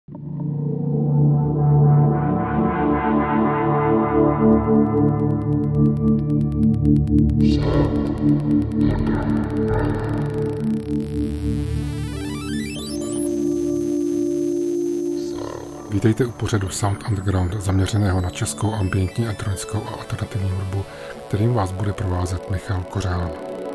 Vítejte u pořadu Sound Underground zaměřeného na českou ambientní, elektronickou a alternativní hudbu, kterým vás bude provázet Michal Kořán.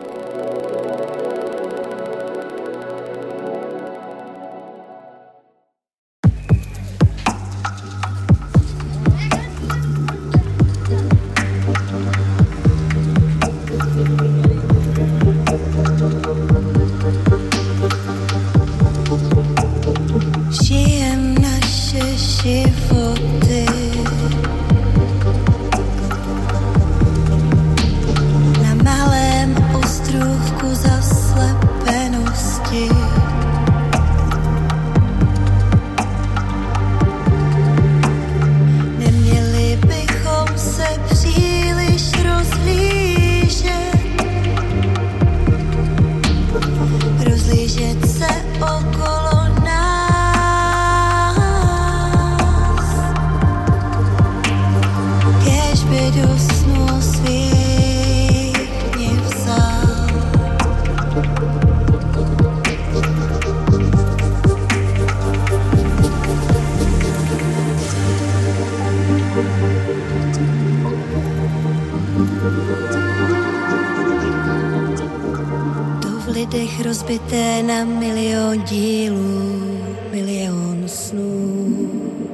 Rozbité na milion dílů, milion snů,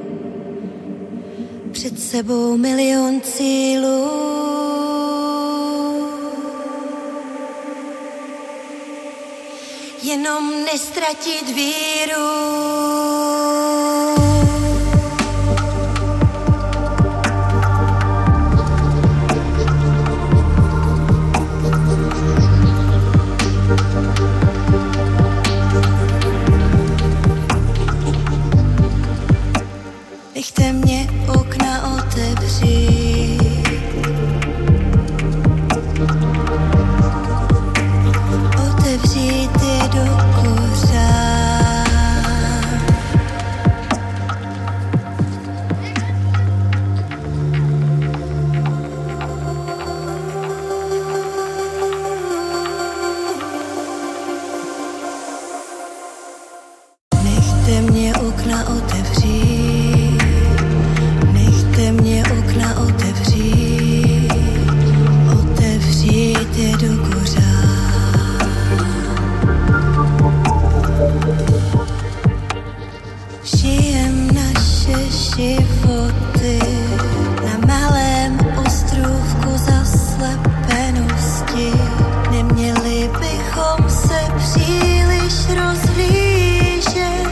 před sebou milion cílů. Jenom nestratit víru. Nechte mě okna otevřít, otevřít je do kořán. Nechte mě okna otevřít, nechte mě okna otevřít, otevřít je do kořán. Žijem naše životy na malém ostrůvku zaslepenosti. Neměli bychom se příliš rozhlížet.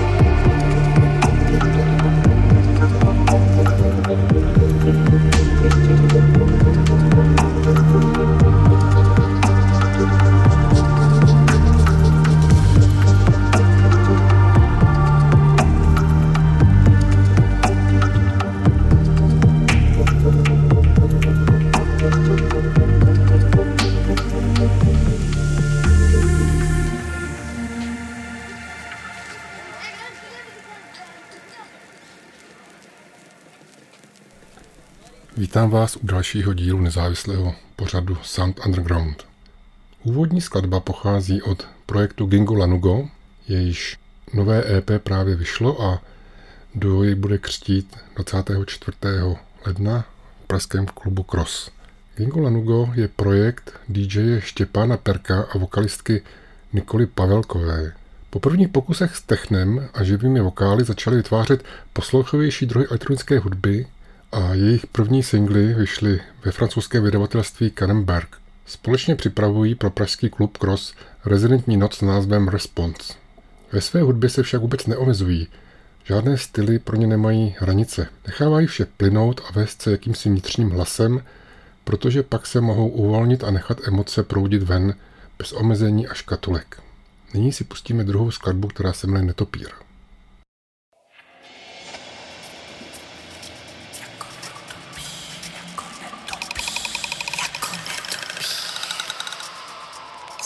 Vítám vás u dalšího dílu nezávislého pořadu Sound Underground. Úvodní skladba pochází od projektu Gingo Lanugo, jejíž nové EP právě vyšlo a duo jej bude křtít 24. ledna v pražském klubu Cross. Gingo Lanugo je projekt DJ Štěpána Perka a vokalistky Nikoly Pavelkové. Po prvních pokusech s technem a živými vokály začali vytvářet poslouchovější druhy elektronické hudby a jejich první singly vyšly ve francouzském vydavatelství Kannenberg. Společně připravují pro pražský klub Cross rezidentní noc s názvem Response. Ve své hudbě se však vůbec neomezují. Žádné styly pro ně nemají hranice. Nechávají vše plynout a vést se jakýmsi vnitřním hlasem, protože pak se mohou uvolnit a nechat emoce proudit ven bez omezení a škatulek. Nyní si pustíme druhou skladbu, která se jmenuje Netopír.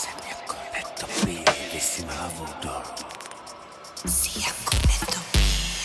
Si jako netopír.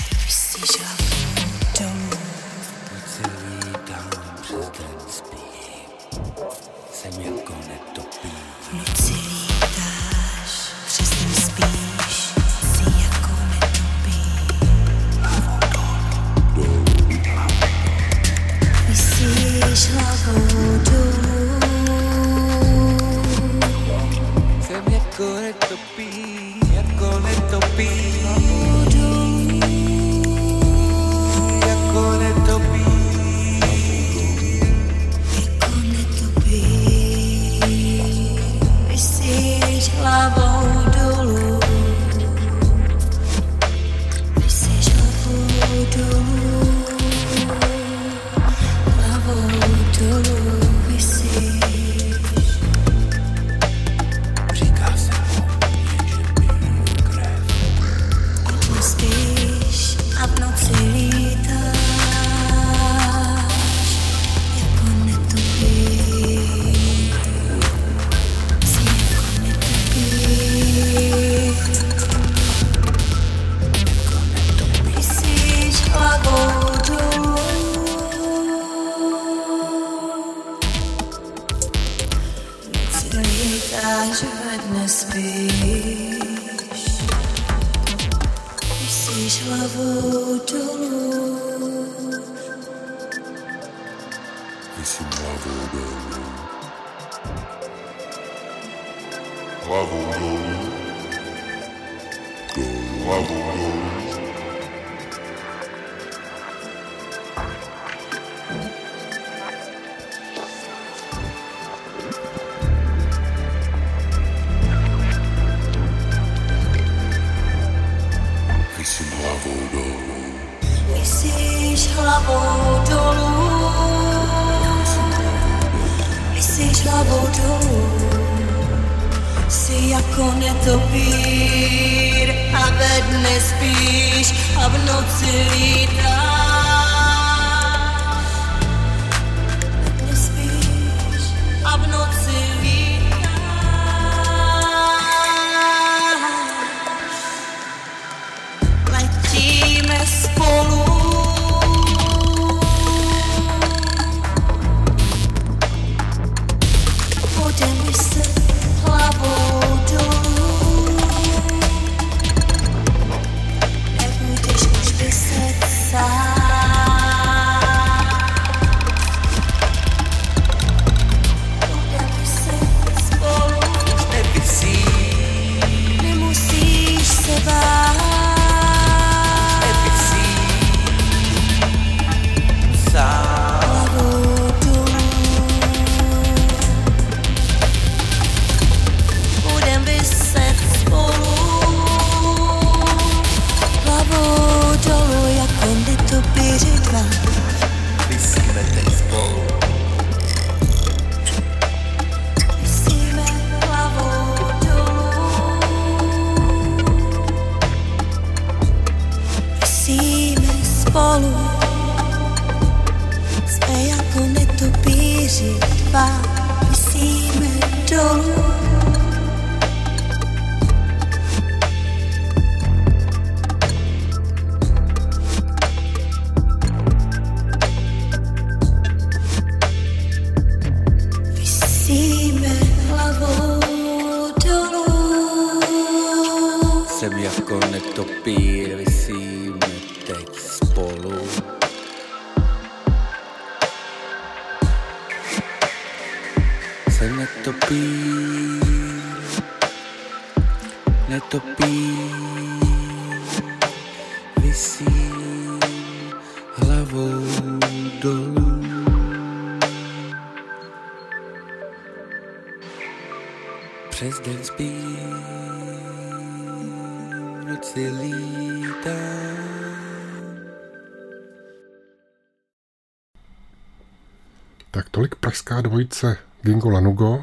Tak tolik pražská dvojice Gingo Lanugo,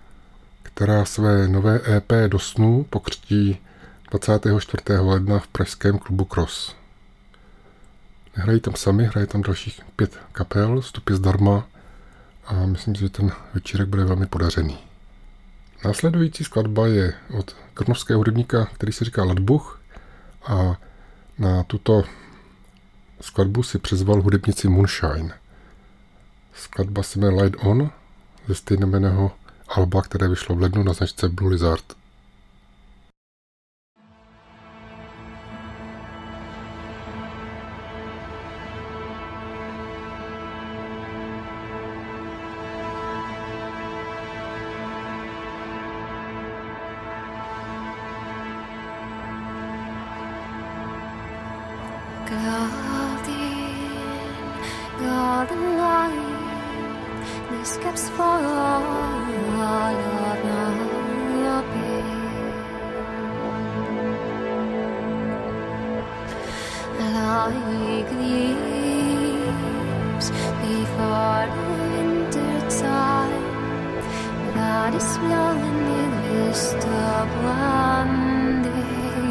která své nové EP Do snů pokřtí 24. ledna v pražském klubu Cross. Nehrají tam sami, hraje tam dalších 5 kapel, vstup je zdarma a myslím si, že ten večírek bude velmi podařený. Následující skladba je od krnovského hudebníka, který se říká Ladbuch, a na tuto skladbu si přizval hudebnici Moonshine. Skladba se jmenuje Light On ze stejnojmenného alba, které vyšlo v lednu na značce Blue Lizard. like leaves before the winter time that is blowing in the mist of one day.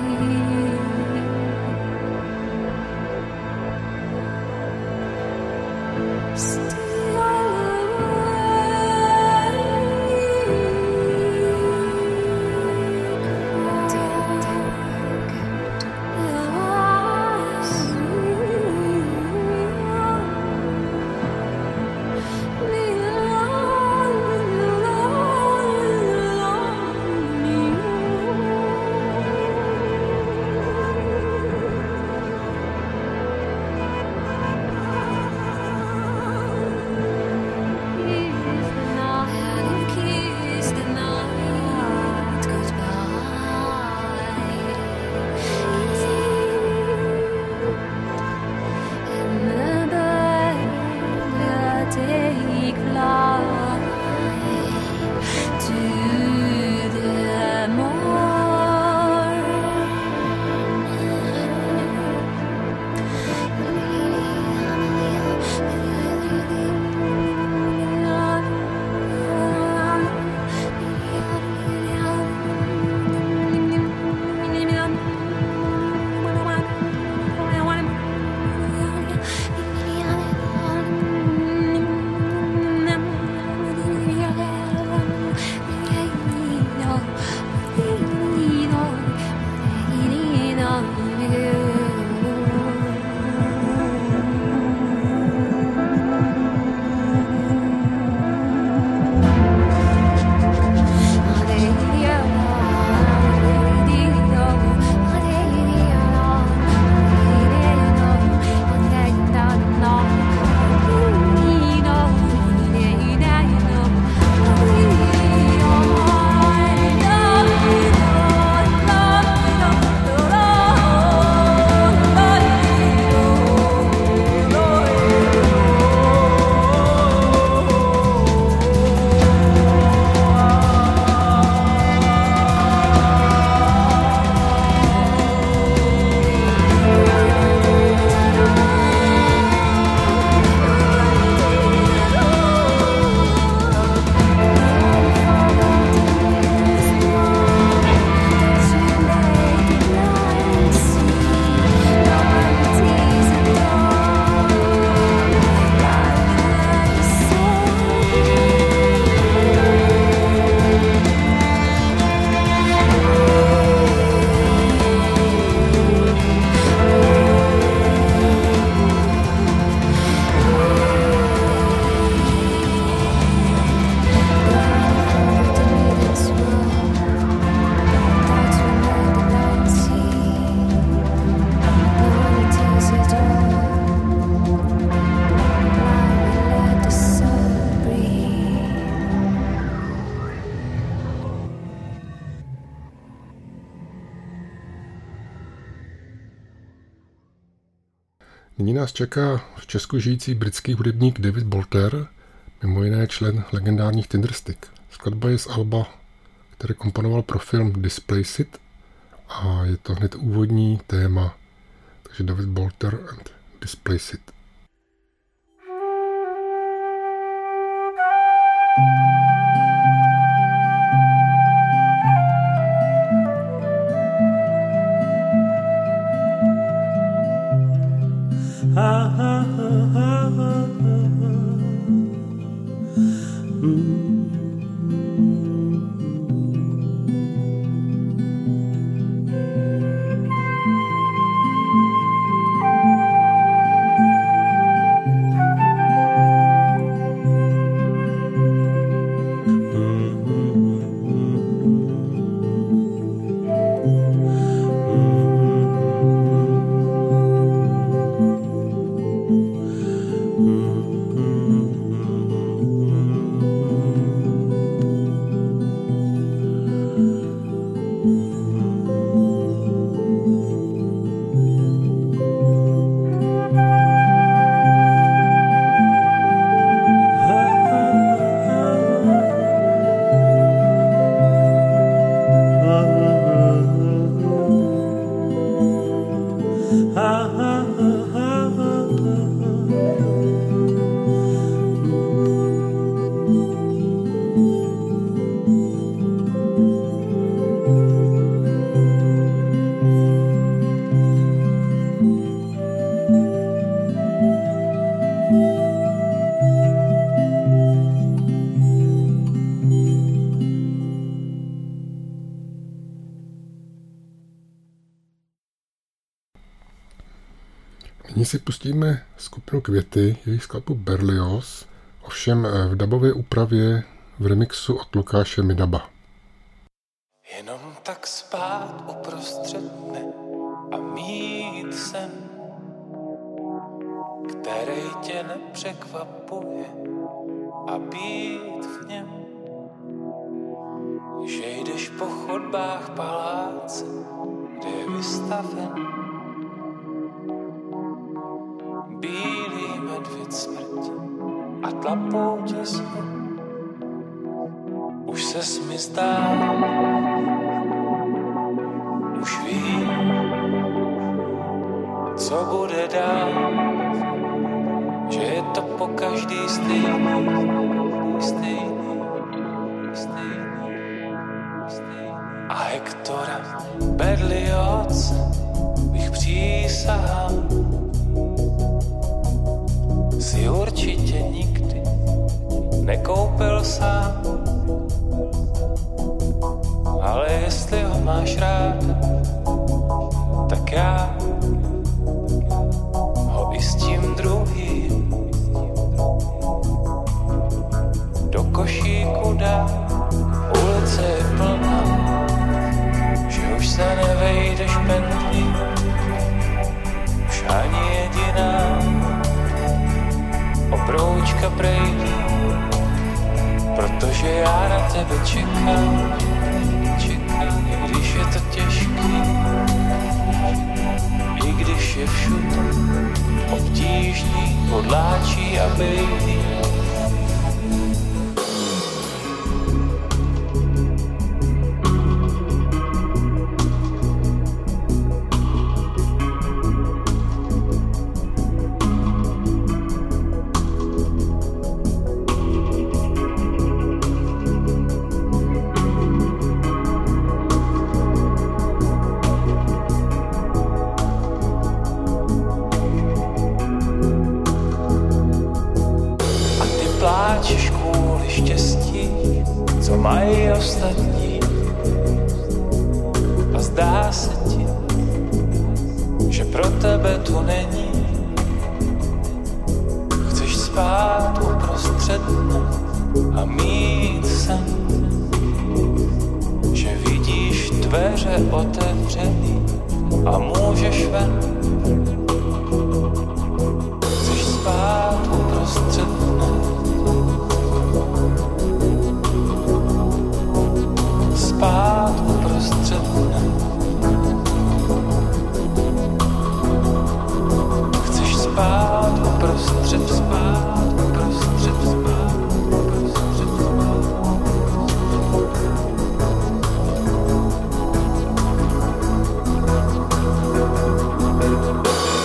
Nyní nás čeká v Česku žijící britský hudebník David Bolter, mimo jiné člen legendárních Tinderstick. Skladba je z alba, které komponoval pro film Displaced a je to hned úvodní téma, takže David Bolter and Displaced. Nyní si pustíme skupinu Květy, jejich skladbu Berlioz, ovšem v dabové úpravě v remixu od Lukáše Midaba. Jenom tak spát uprostřed dne a mít sen, který tě nepřekvapuje a být v něm, že jdeš po chodbách paláce, kde je vystaven bílý medvěd smrti a tlapou tě sny. Už ses mi zdá, už vím, co bude dál, že je to pokaždý stejný. A Hektora Berlioz bych přísahal, si určitě nikdy nekoupil sám. Ale jestli ho máš rád, tak já ho i s tím druhým do košíku dám. Ulice je plná, že už se nevejdeš pendlí, už ani jediná obroučka prejde, protože já na tebe čekám, i když je to těžký, i když je všude obtížný, podláčí a bejlí. Mají ostatní a zdá se ti, že pro tebe tu není. Chceš spát uprostřed dne a mít sen, že vidíš dveře otevřený a můžeš ven. Chceš spát uprostřed dne, spát uprostřed dne. Chceš spát uprostřed, spát uprostřed, spát uprostřed, spát.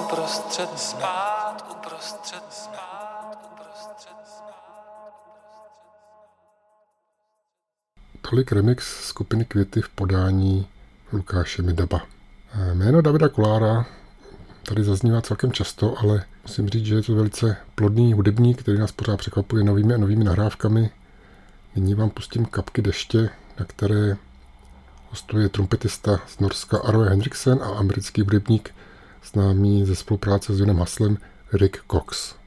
uprostřed dne. Tolik remix skupiny Květy v podání Lukáše Midaba. Jméno Davida Kolára tady zaznívá celkem často, ale musím říct, že je to velice plodný hudebník, který nás pořád překvapuje novými a novými nahrávkami. Nyní vám pustím Kapky deště, na které hostuje trumpetista z Norska Arve Henriksen a americký hudebník známý ze spolupráce s Jonem Haslem Rick Cox.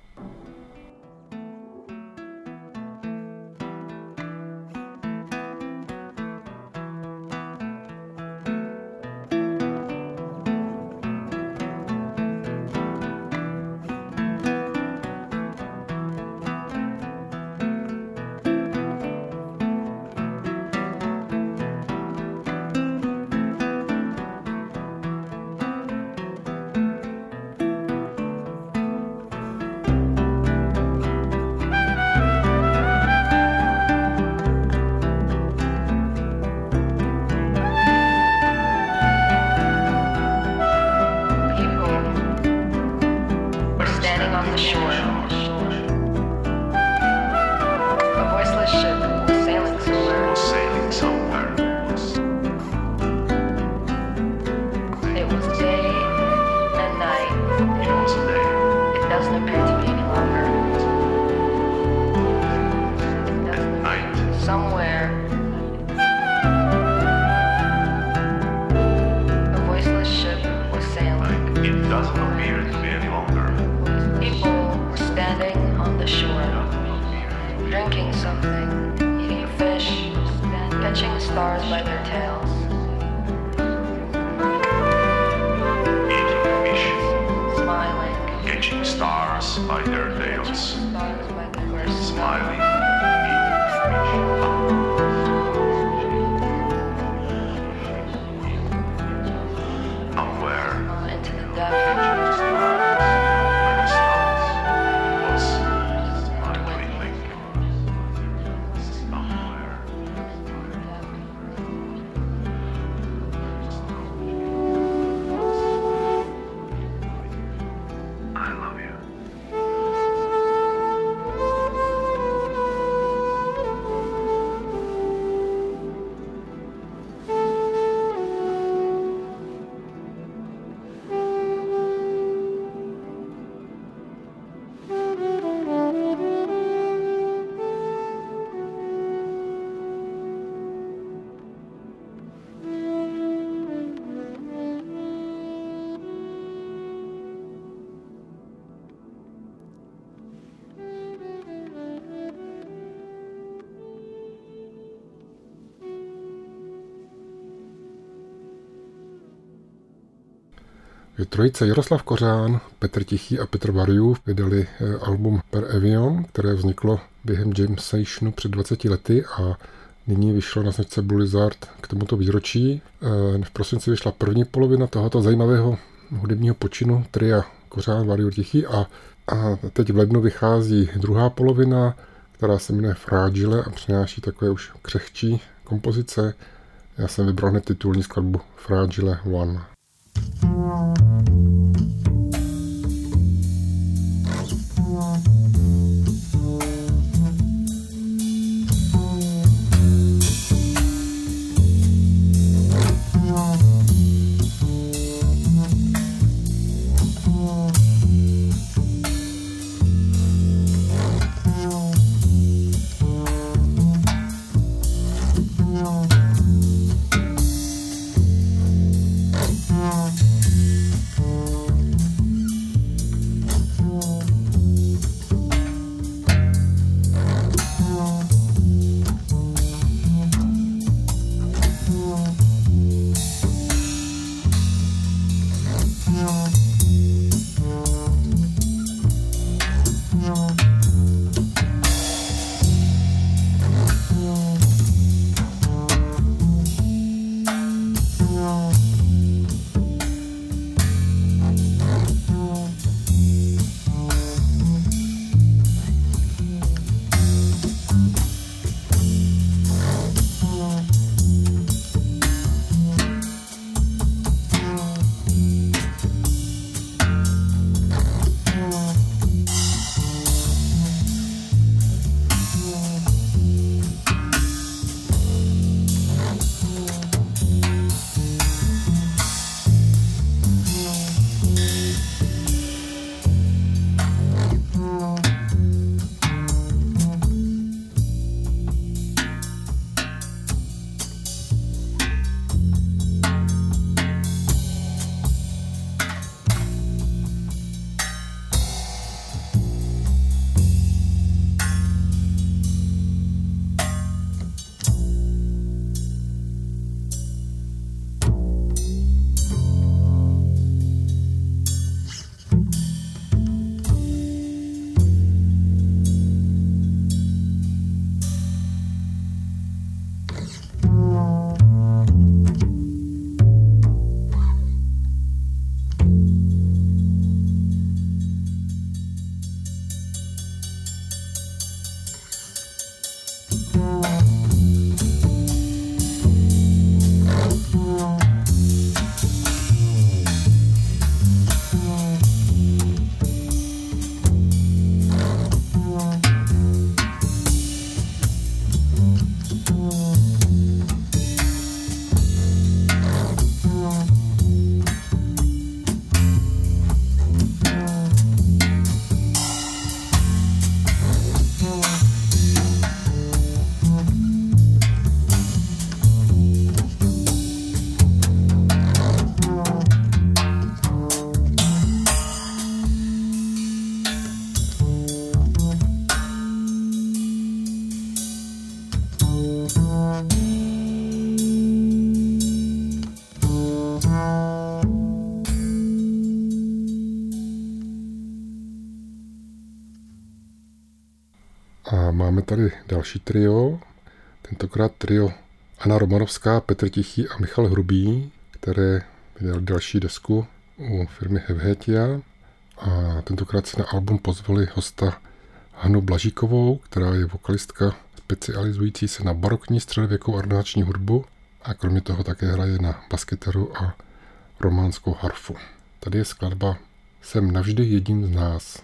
Trojice Jaroslav Kořán, Petr Tichý a Petr Variův vydali album Per Evion, které vzniklo během jam sessionu před 20 lety a nyní vyšlo na značce Blue Lizard k tomuto výročí. V prosinci vyšla první polovina tohoto zajímavého hudebního počinu tria Kořán, Variův, Tichý a teď v lednu vychází druhá polovina, která se jmenuje Fragile a přináší takové už křehčí kompozice. Já jsem vybral hned titulní skladbu Fragile One. máme tady další trio, tentokrát trio Anna Romanovská, Petr Tichý a Michal Hrubý, které vydali další desku u firmy Helvetia. A tentokrát si na album pozvali hosta Hanu Blažíkovou, která je vokalistka specializující se na barokní středověkou ornační hudbu a kromě toho také hraje na baskytaru a románskou harfu. Tady je skladba Jsem navždy jedním z nás.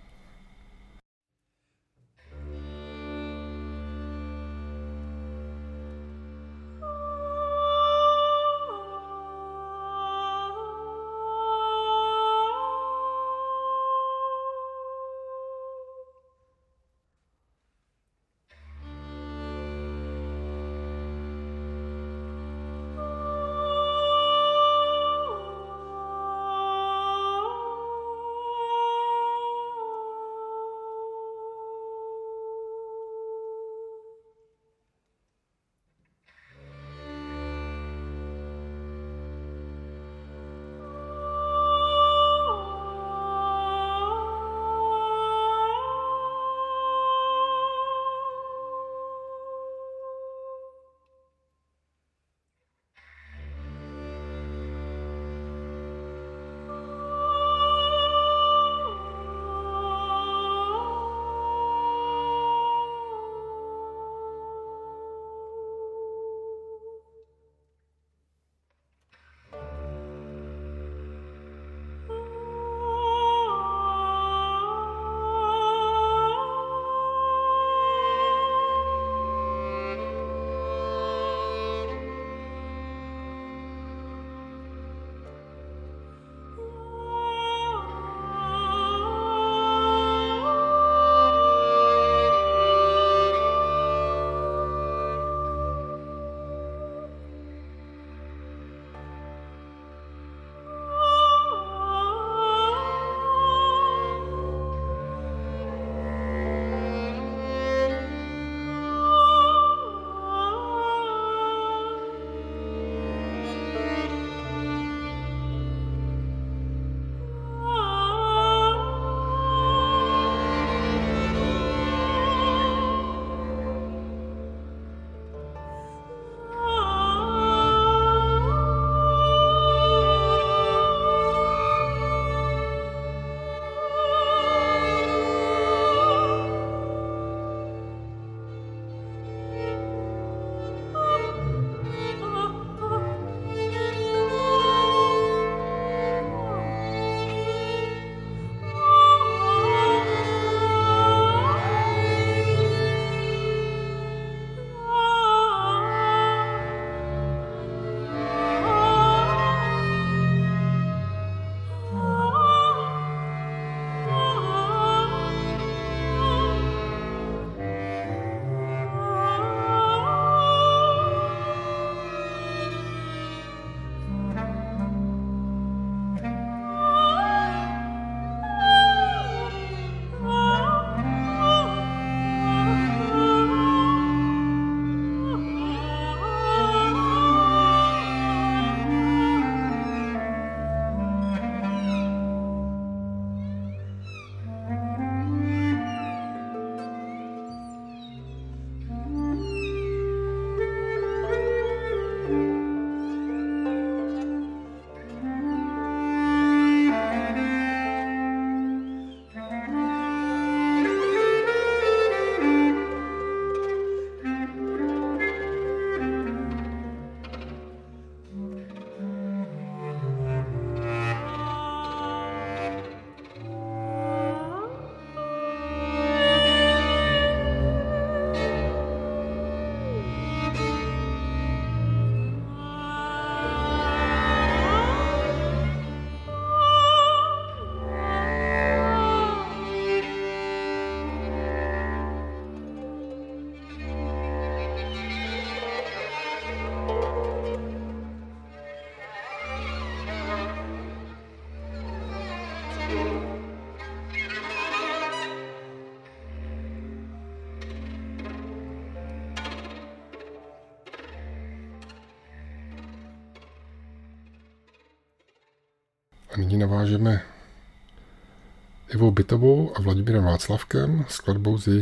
A nyní navážeme Ivou Bytovou a Vladimírem Václavkem skladbou z jejich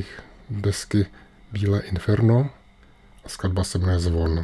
desky Bílé inferno a skladba se jmenuje Zvon.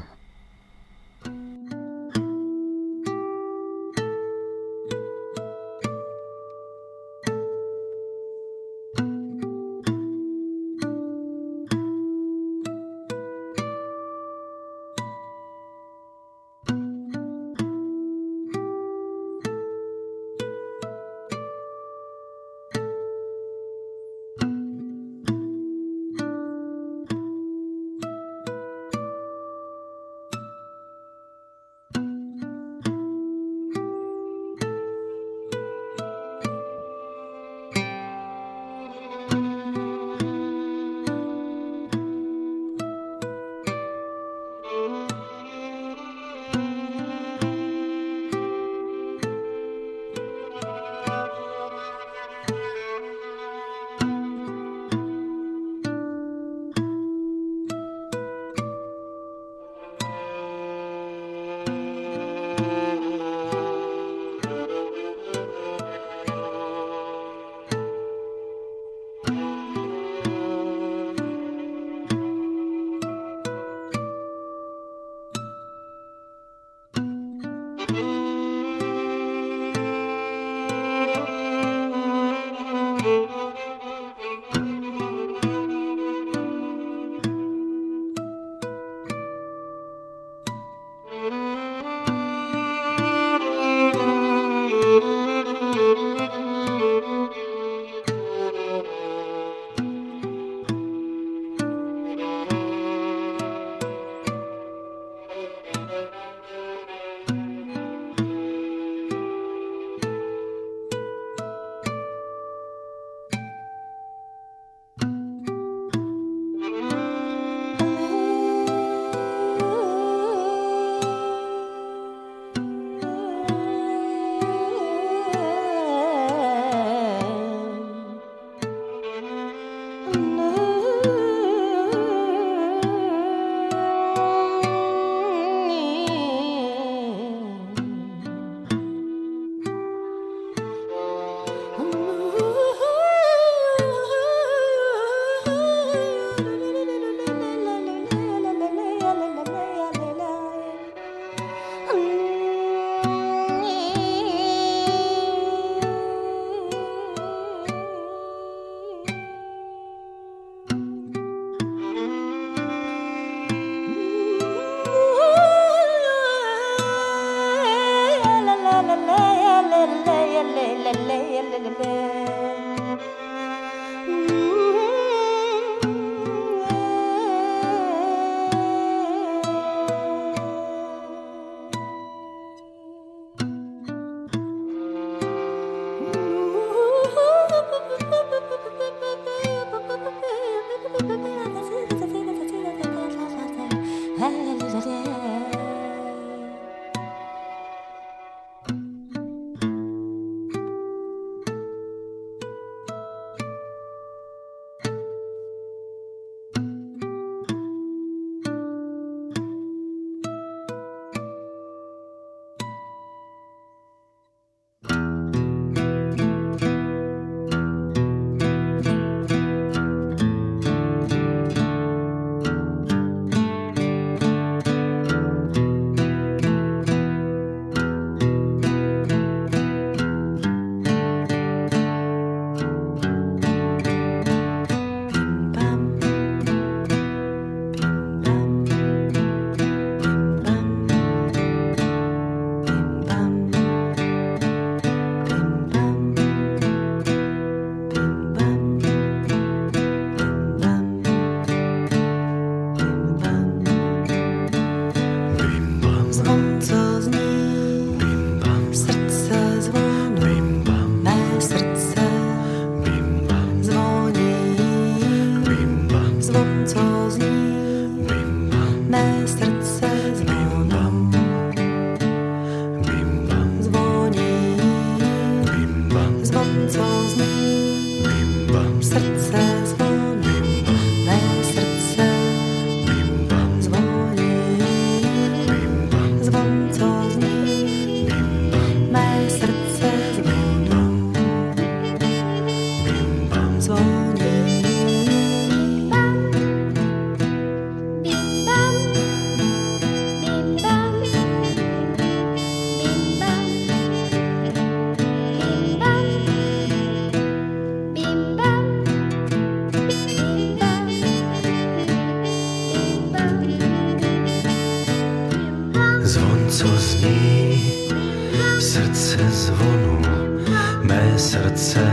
co zní, srdce zvonu, mé srdce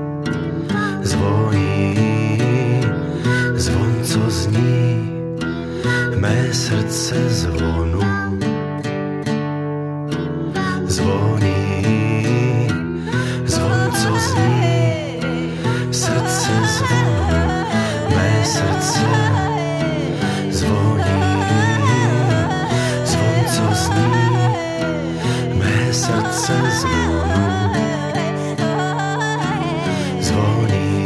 zvoní, zvon, co zní, mé srdce zvonu, zvoní, zvon, co zní, srdce zvonu, mé srdce zvoní, zvon, co zní, mé srdce zvonu, zvoní.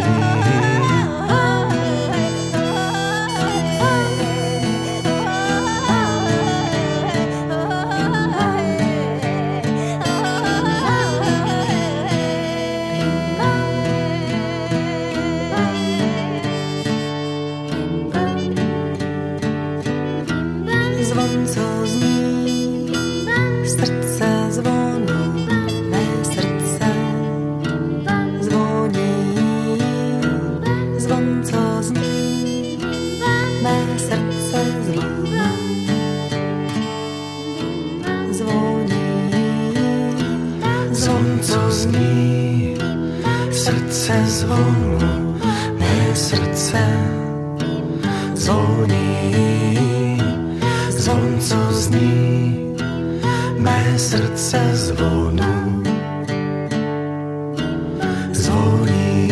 Zvon, co zní, srdce zvonu, mé srdce zvoní. Zvon, co zní, mé srdce zvoní. Zvoní. Zvon, co zní, srdce zvonu, mé srdce zvoní. Zvon, co zní, mé srdce zvonu, zvoní.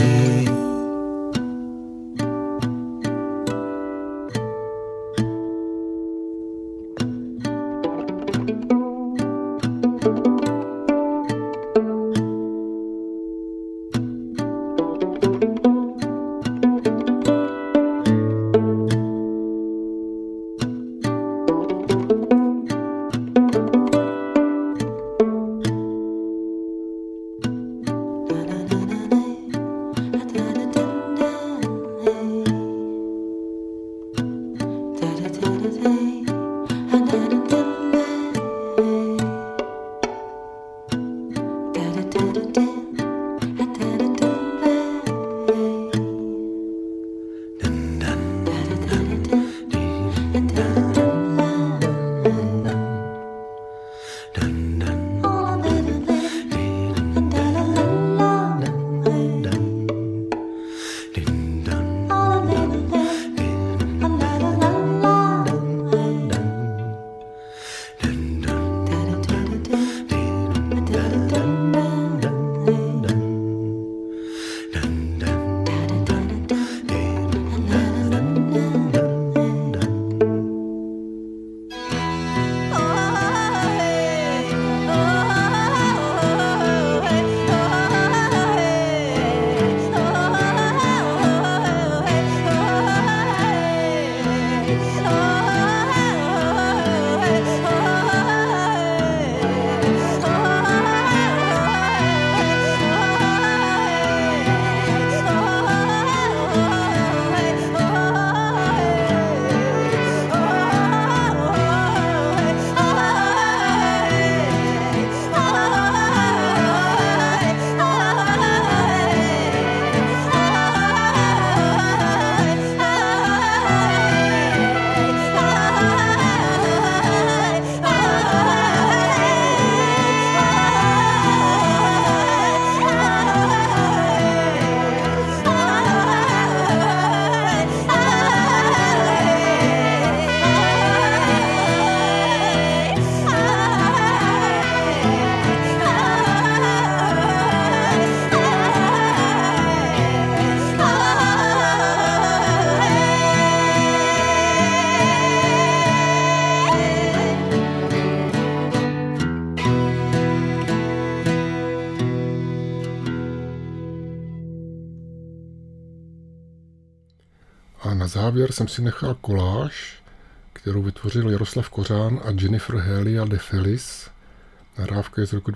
A na závěr jsem si nechal koláž, kterou vytvořil Jaroslav Kořán a Jennifer Helia de Feliz. Nahrávka je z roku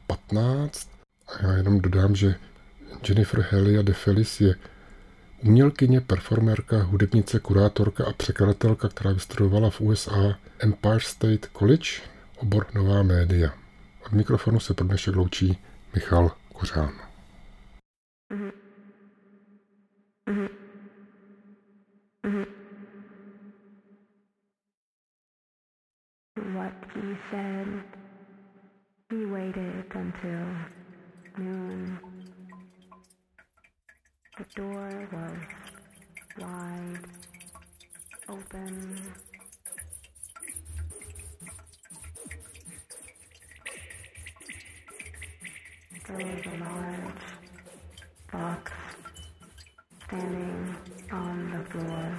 2015 a já jenom dodám, že Jennifer Helia de Feliz je umělkyně, performérka, hudebnice, kurátorka a překladatelka, která vystudovala v USA Empire State College, obor nová média. Od mikrofonu se pro dnešek loučí Michal Kořán. what he said. He waited until noon. The door was wide open. There was a large box standing on the floor.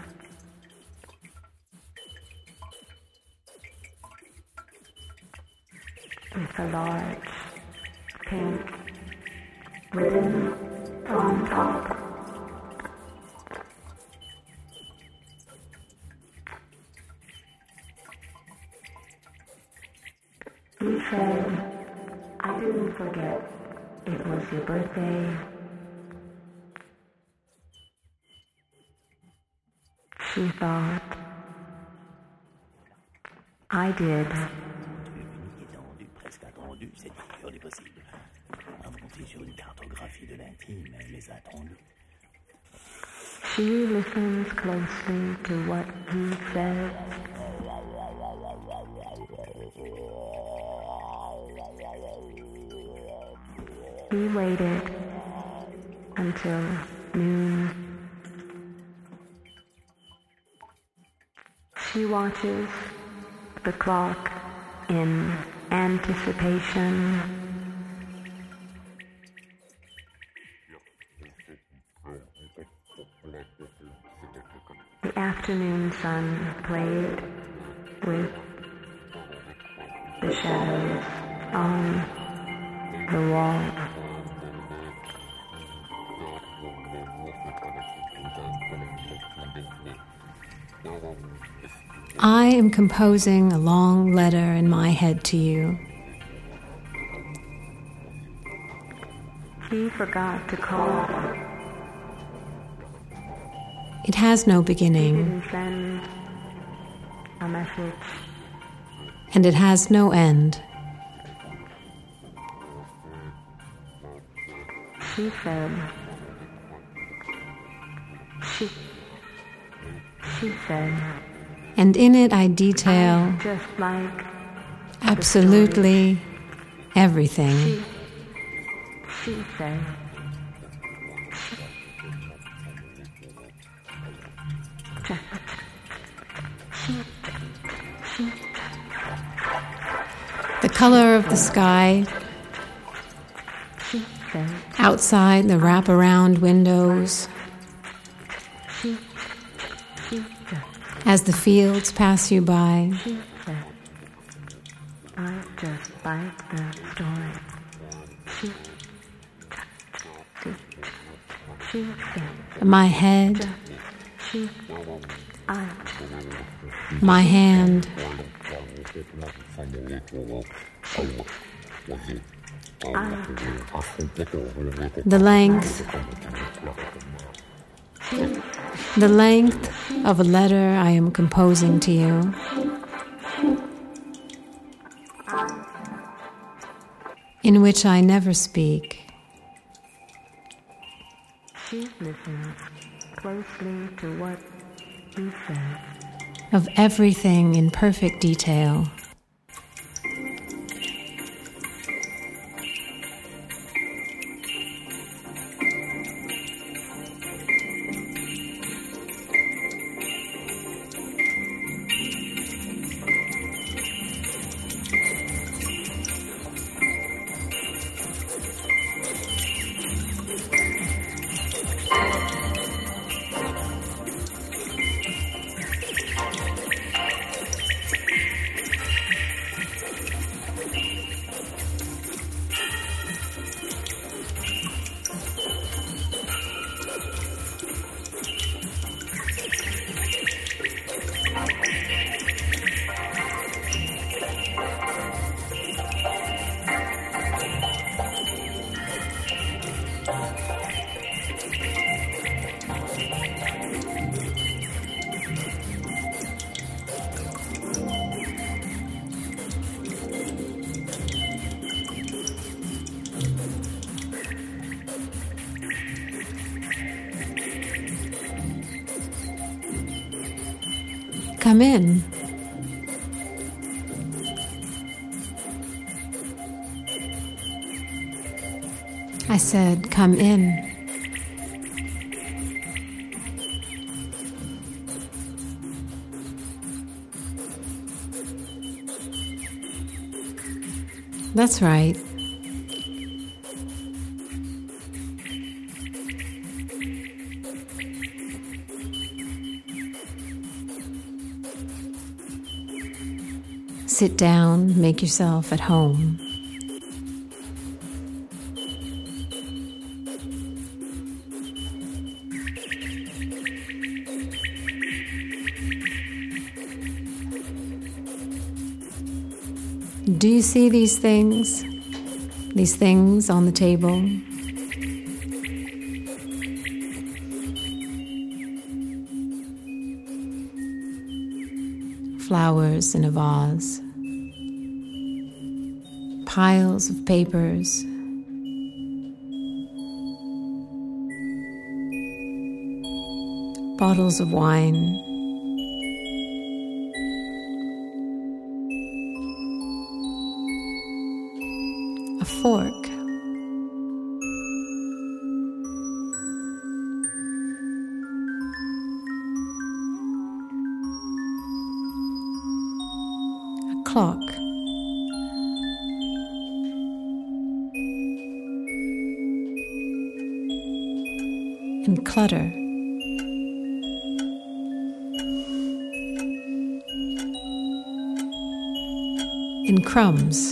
With a large pink ribbon on top. He said, I didn't forget it was your birthday. She thought, I did. Presque attendu, cette figure des possibles. Inventée sur une cartographie de l'intime, elle les a attendus. She listens closely to what he says. He waited until noon. She watches the clock in anticipation. The afternoon sun played with the shadows on the wall. I am composing a long letter in my head to you. He forgot to call. It has no He beginning, didn't send a message. and it has no end. She said, she said, And in it I detail just like absolutely everything. she said. The color of the sky outside the wraparound windows as the fields pass you by. I just like the story. She said, My head, I my hand, the length of a letter I am composing to you. In which I never speak. she listens closely to what he says. Of everything in perfect detail. Come in. I said, come in. That's right. Sit down, make yourself at home. Do you see these things? These things on the table? Flowers in a vase. Piles of papers. Bottles of wine. A fork. A clock. And clutter. And crumbs.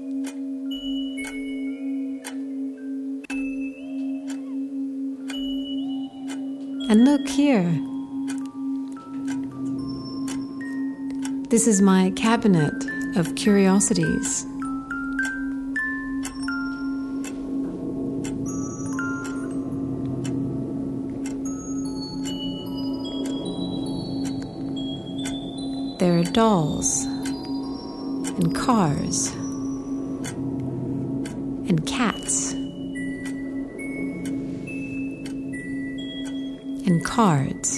And look here. This is my cabinet of curiosities. There are dolls, and cars, and cats, and cards.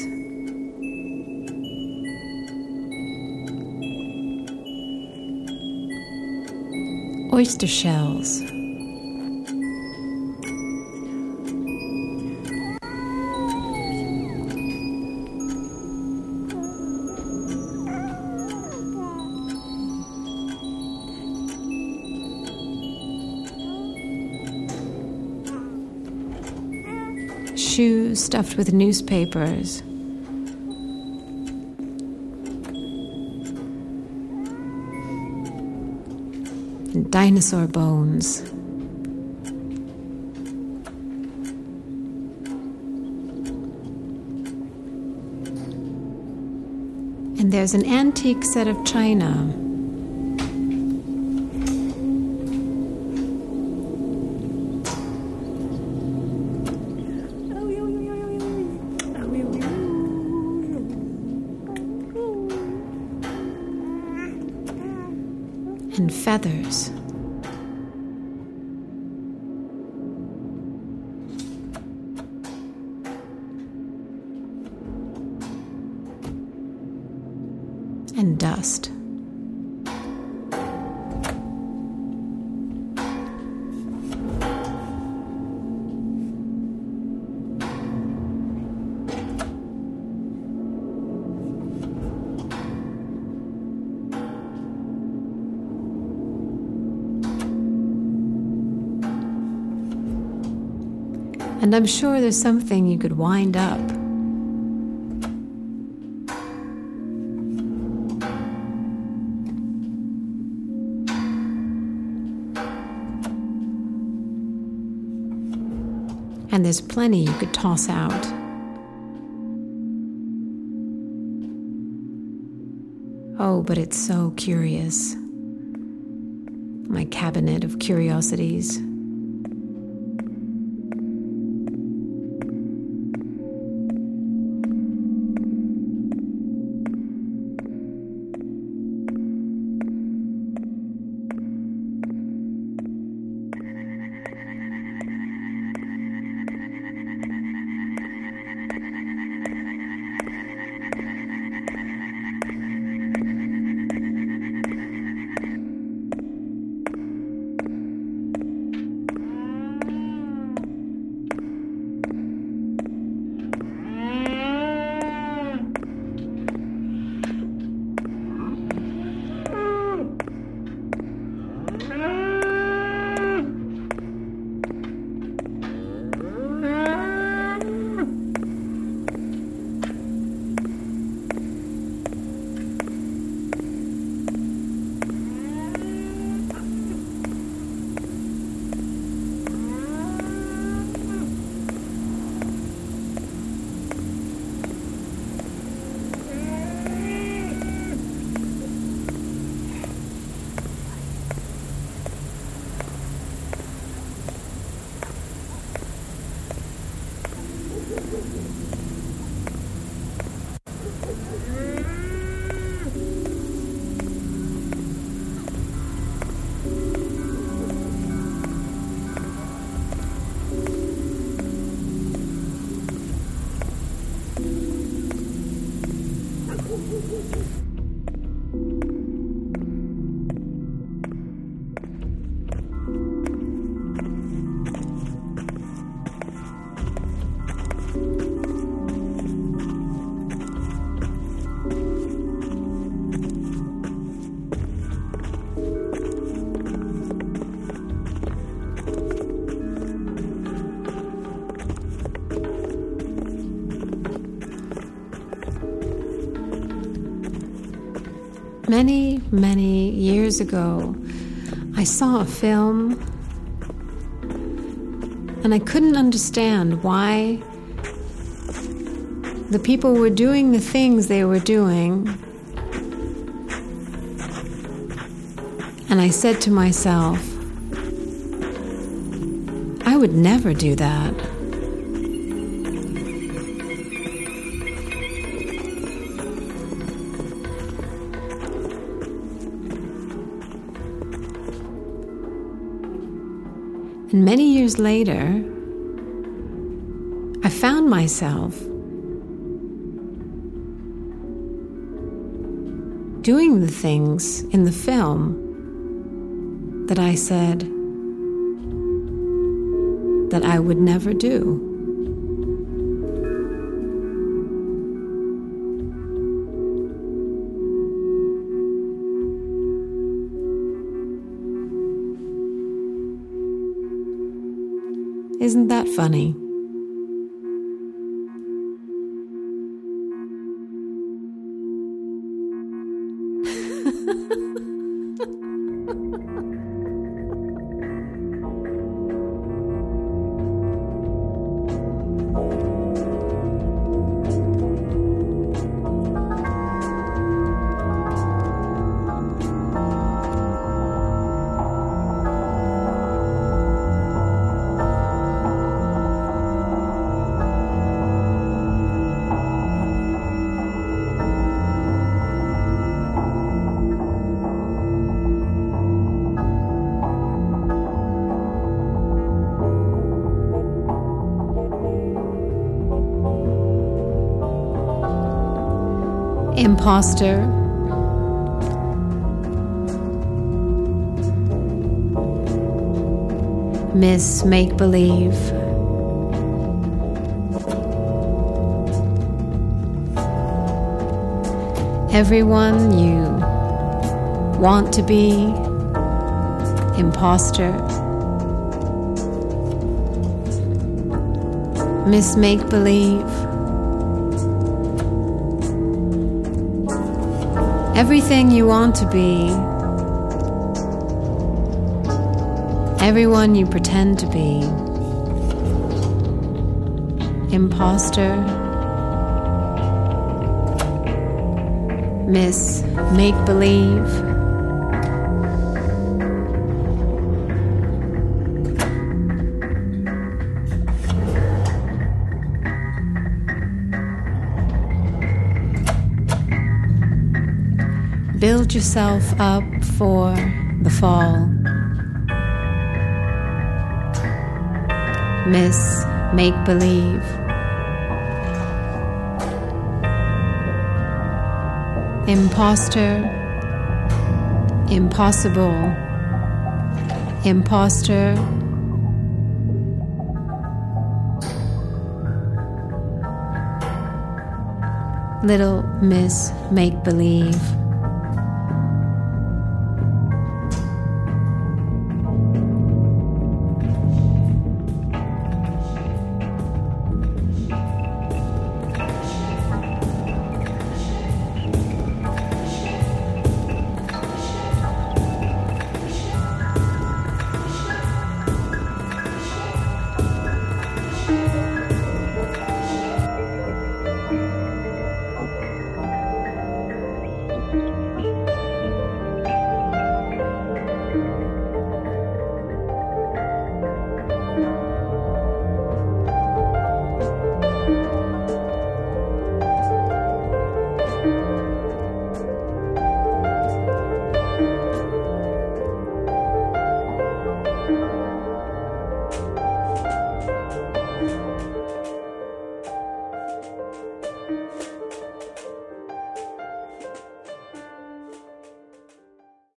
Oyster shells. Shoes stuffed with newspapers. And dinosaur bones. And there's an antique set of china. And feathers. And dust. And I'm sure there's something you could wind up. And there's plenty you could toss out. Oh, but it's so curious. My cabinet of curiosities. Many, many years ago, I saw a film and I couldn't understand why the people were doing the things they were doing. And I said to myself, I would never do that. And many years later, I found myself doing the things in the film that I said that I would never do. Isn't that funny? Imposter, Miss Make-Believe, everyone you want to be, imposter, Miss Make-Believe, everything you want to be, everyone you pretend to be, imposter, Miss Make-Believe, build yourself up for the fall, Miss Make-Believe, imposter, impossible, imposter, little Miss Make-Believe.